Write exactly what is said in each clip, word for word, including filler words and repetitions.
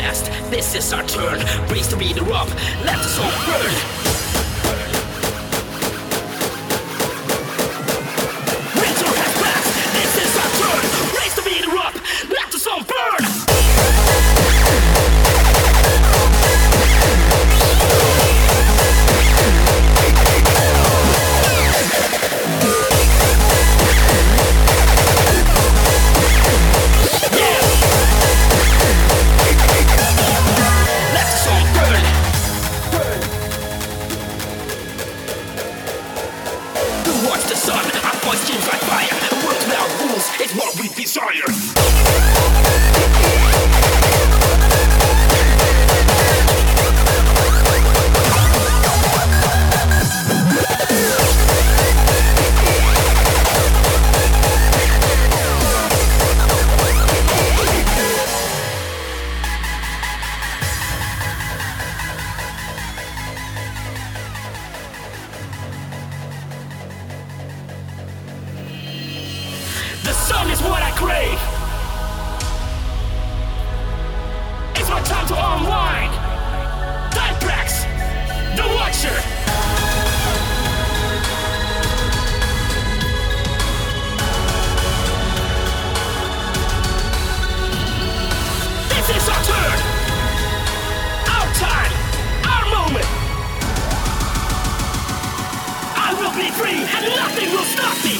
past. This is our turn. Race to be the rock. Let the song burn. Winter has passed. This is our turn. Race to be the rock. Let the song burn. It's what we desire. The sun is what I crave. It's my time to unwind. Time tracks, the Watcher. This is our turn. Our time, our moment. I will be free and nothing will stop me.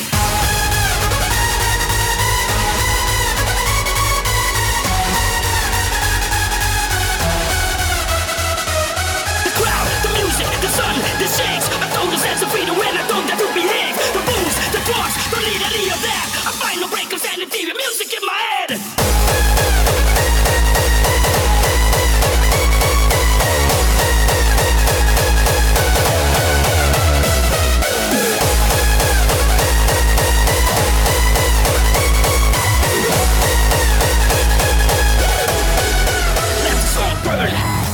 The sun, the shakes, I told the sense of freedom when I told them to behave. The booze, the drugs, don't need any of that. I find no break of sanity, the music in my head. Let the song burn.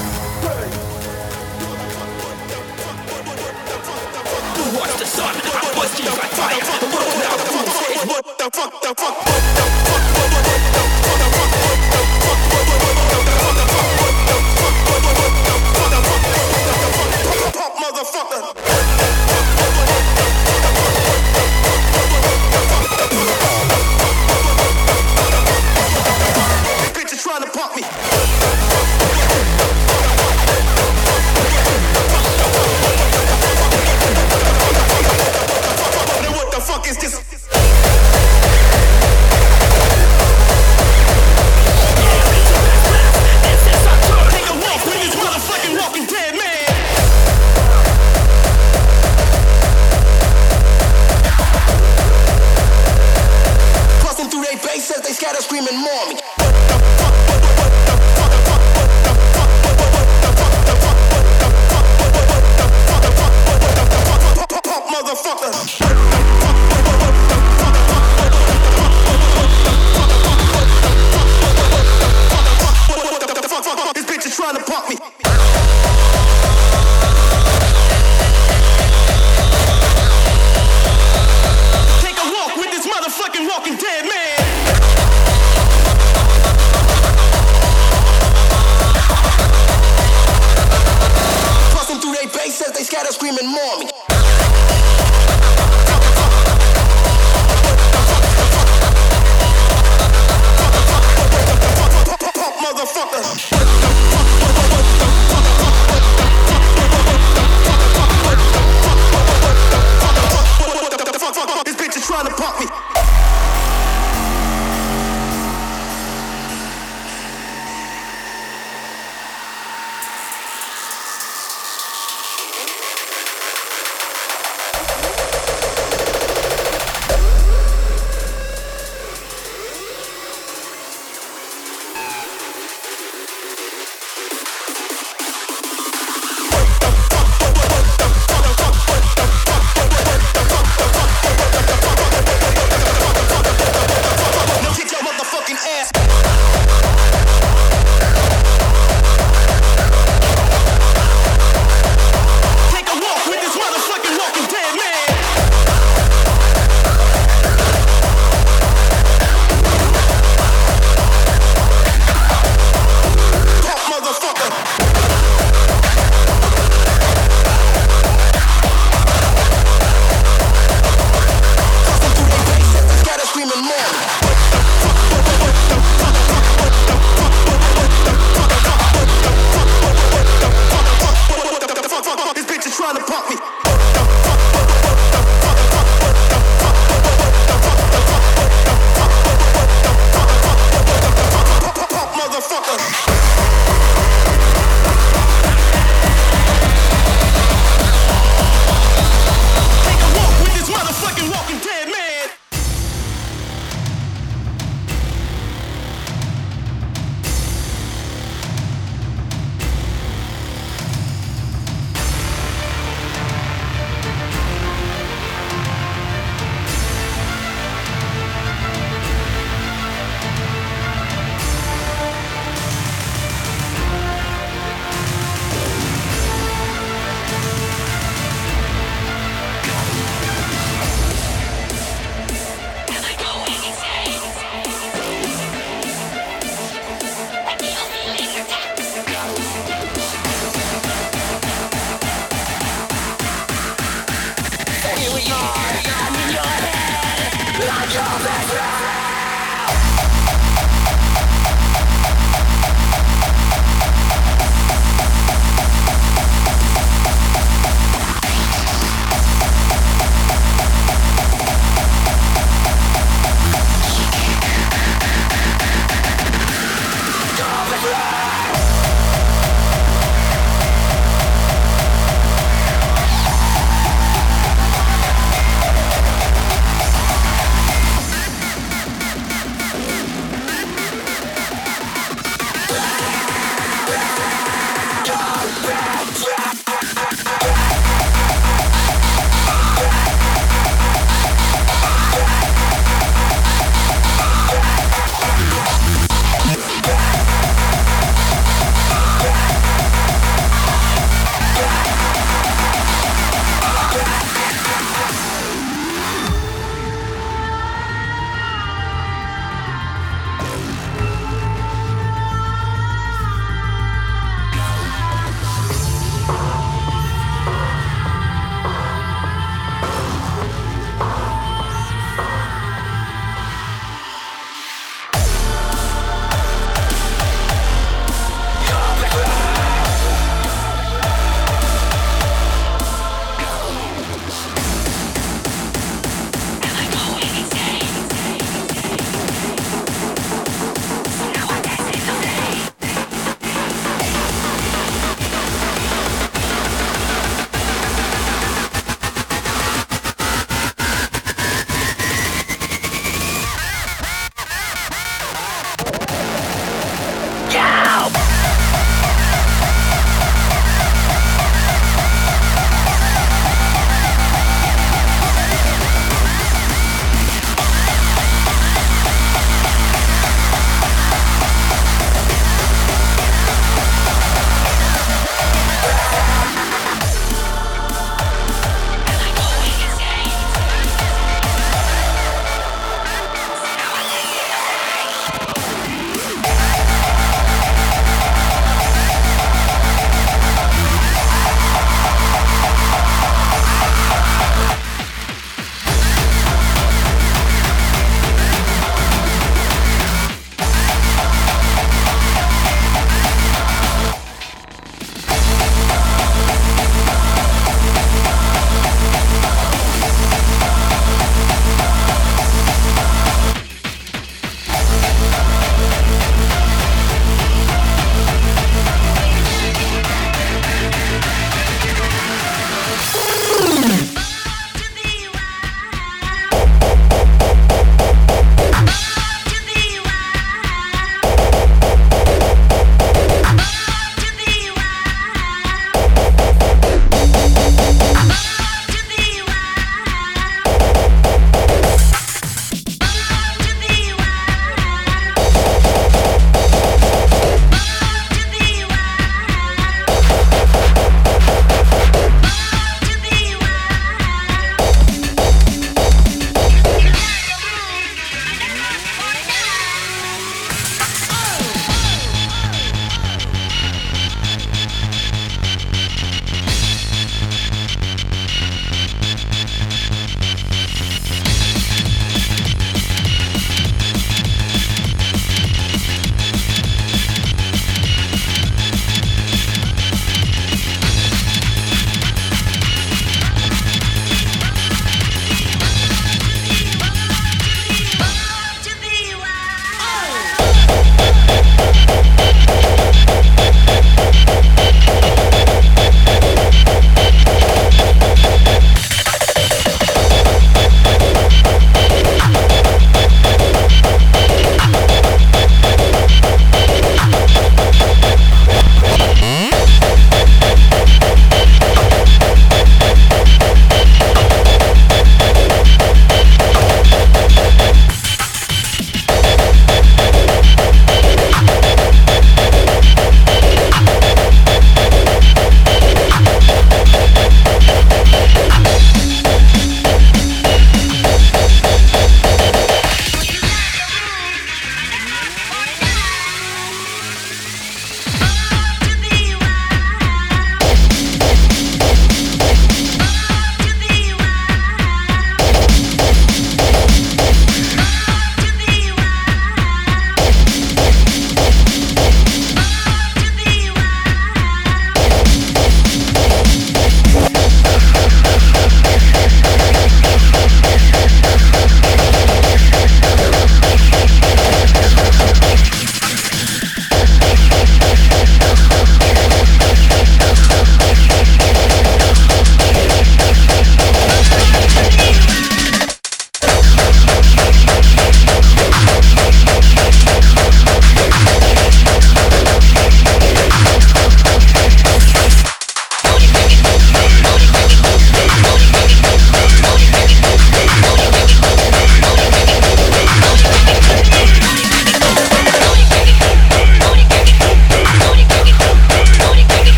Watch the sun, our voice keeps like fire. The world without rules is what the fuck, the fuck, what the fuck, what the fuck, what the fuck, what the fuck, what the fuck, what the fuck, motherfucker. This bitch is trying to pump me. What the fuck is this? Take a walk with this motherfucking walking dead man. Crossing through their base as they scatter screaming more me. Motherfucker. This bitch is trying to pump me. Take a walk with this motherfucking walking dead man. Crossing through their base as they scatter screaming more me. Motherfucker. This bitch is trying to pump me.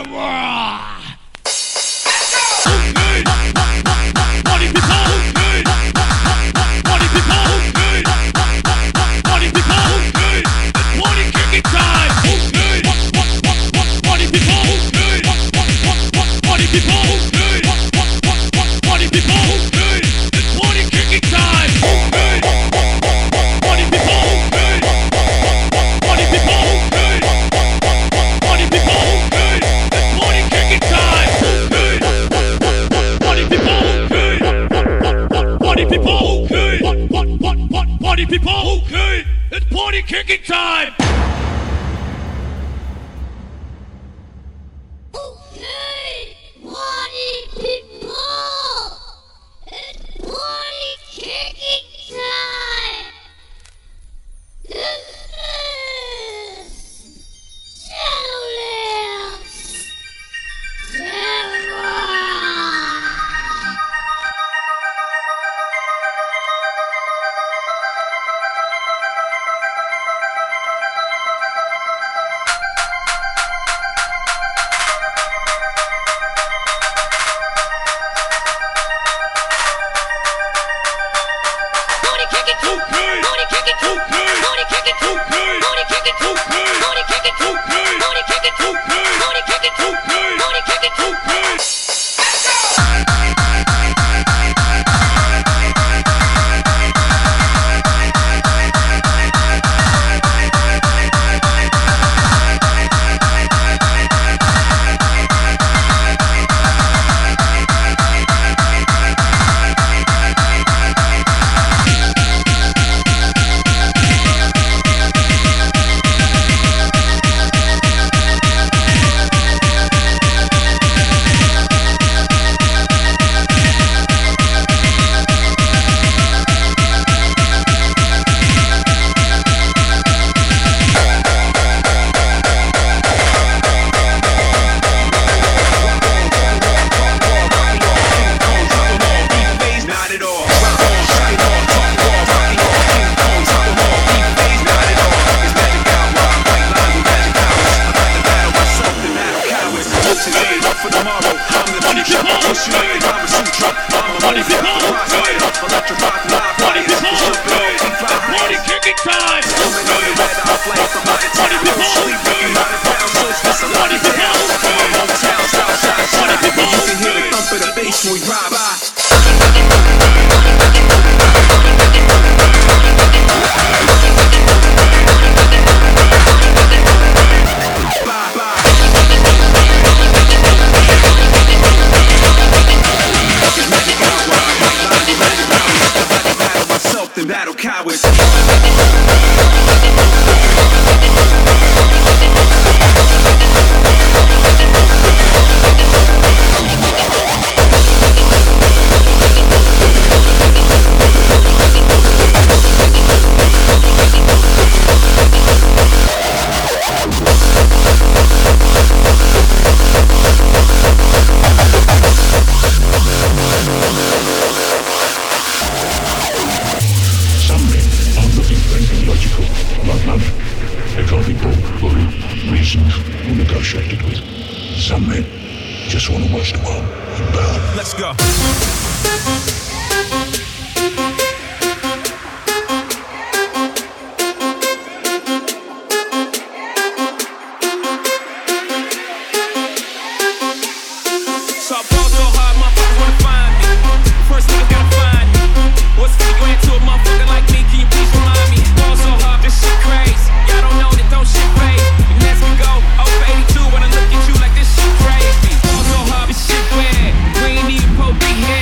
Be here.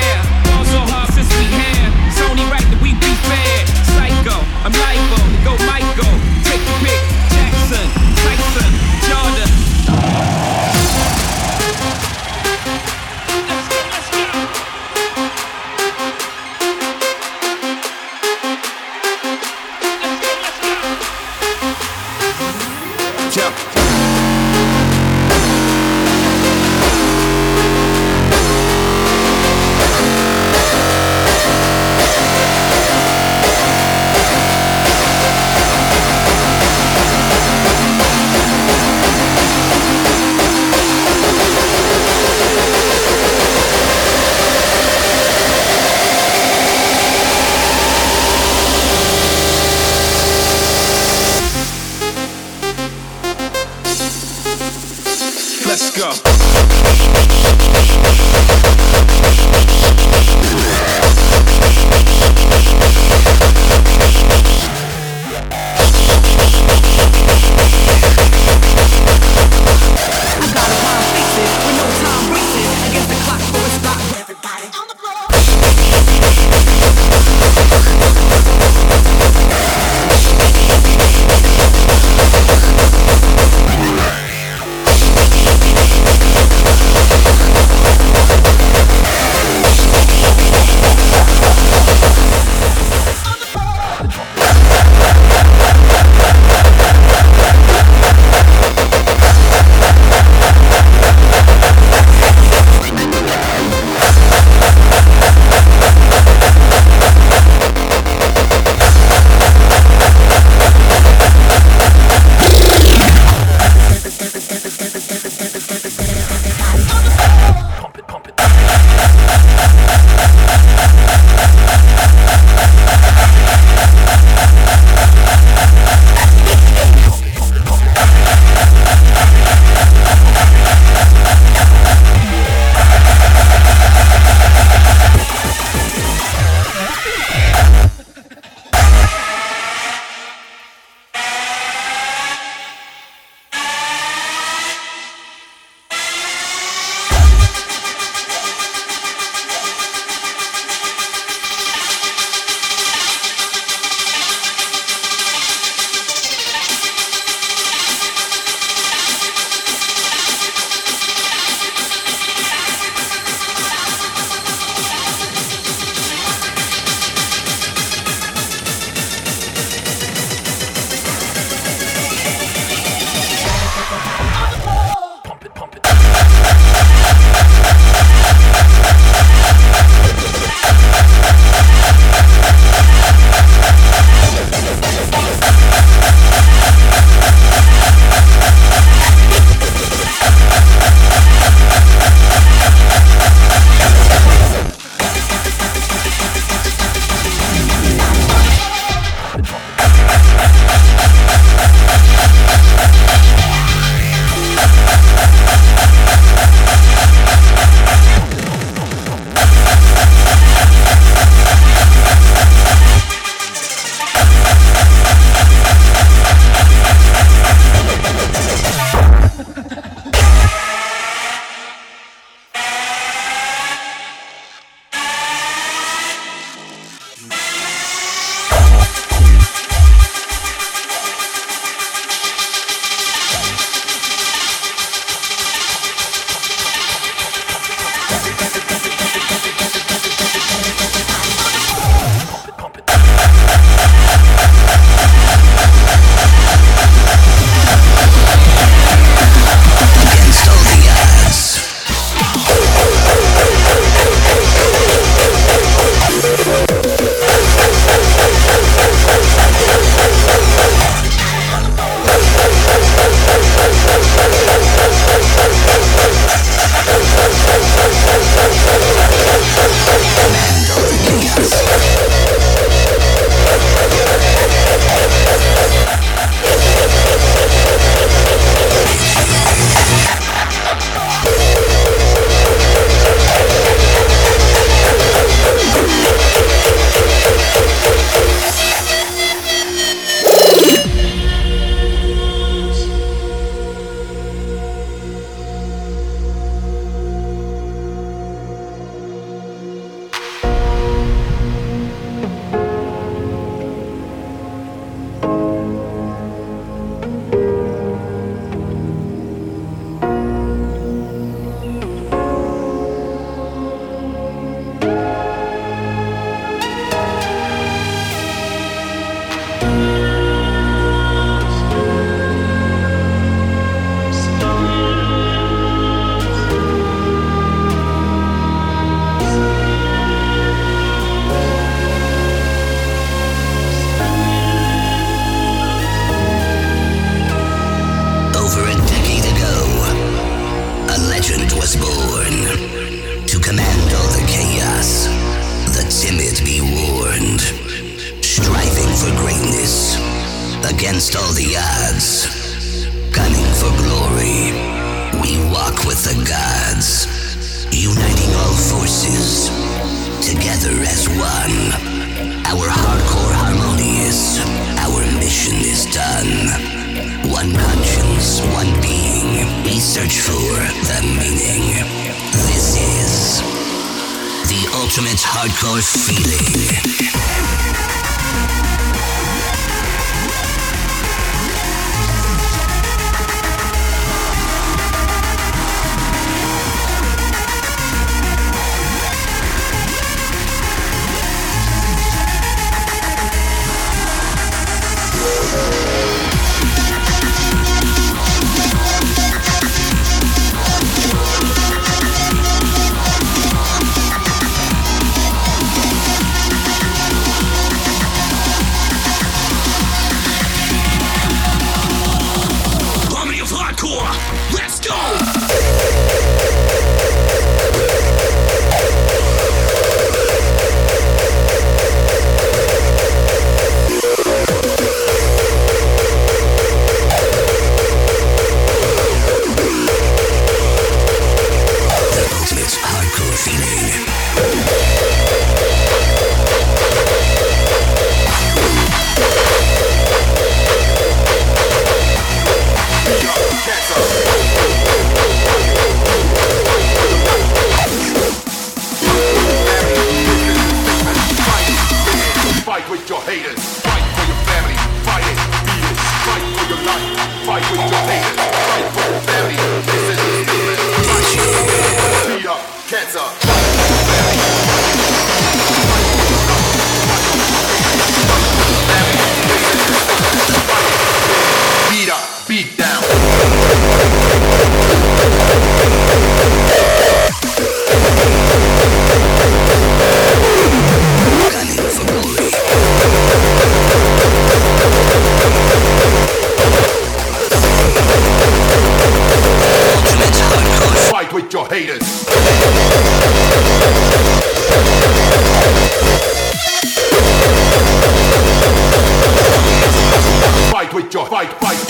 against all the odds, gunning for glory. We walk with the gods, uniting all forces, together as one. Our hardcore harmonious, our mission is done. One conscience, one being, we search for the meaning. This is the ultimate hardcore feeling. Fight with your haters. Fight for your family. Fight it. Beat it. Fight for your life. Fight with your haters. Fight for your family. This is the statement. Fight it. Beat up cancer. Fight for your family. Fight for your life. Fight for your haters. Fight for your family. This is the statement. Fight it. Beat up. Beat down. Fight with your haters. Fight with your fight, fight.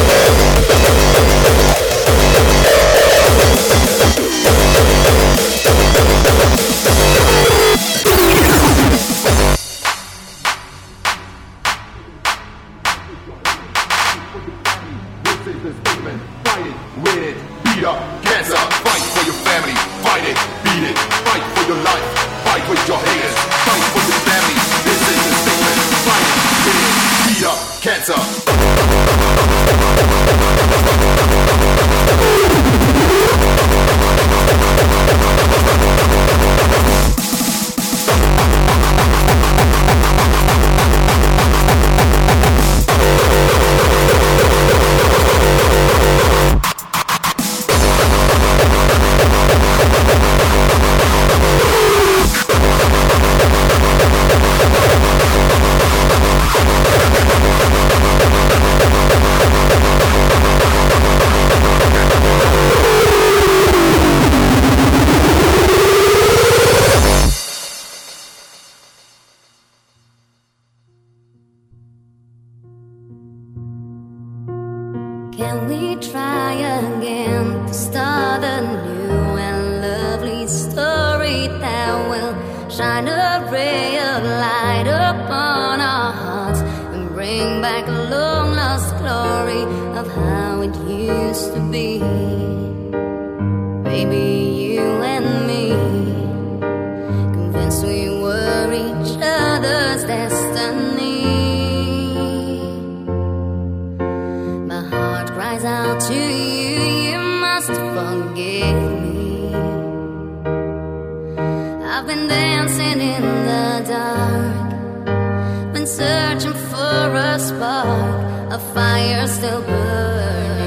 Can we try again to start a new and lovely story that will shine a ray of light upon our hearts and bring back a long lost glory of how it used to be? Baby, you and me, convinced we were each other's destiny. Cries out to you, you must forgive me. I've been dancing in the dark, been searching for a spark, a fire still burning.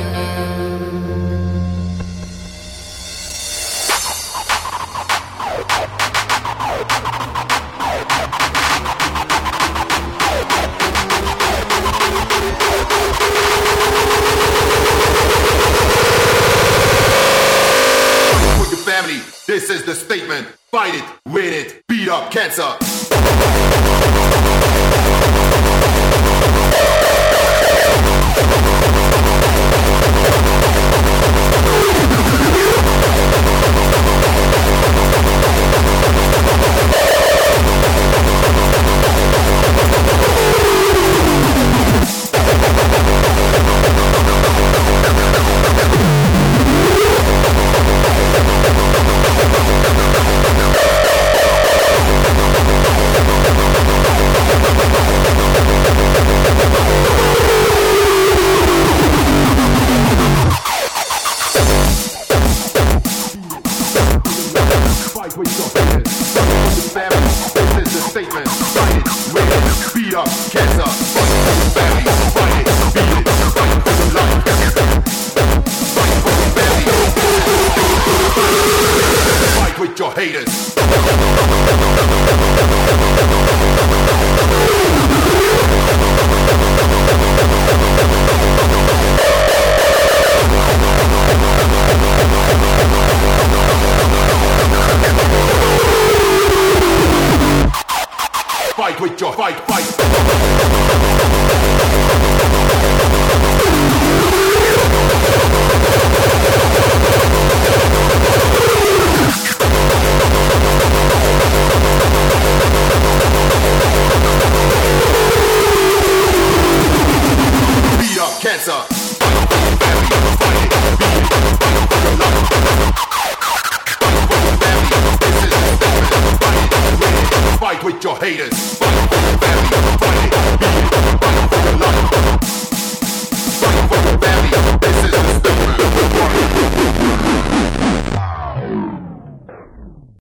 This is the statement. Fight it, win it, beat up cancer. Your haters. Fight with your fight, fight. Cancer. Fight with your haters.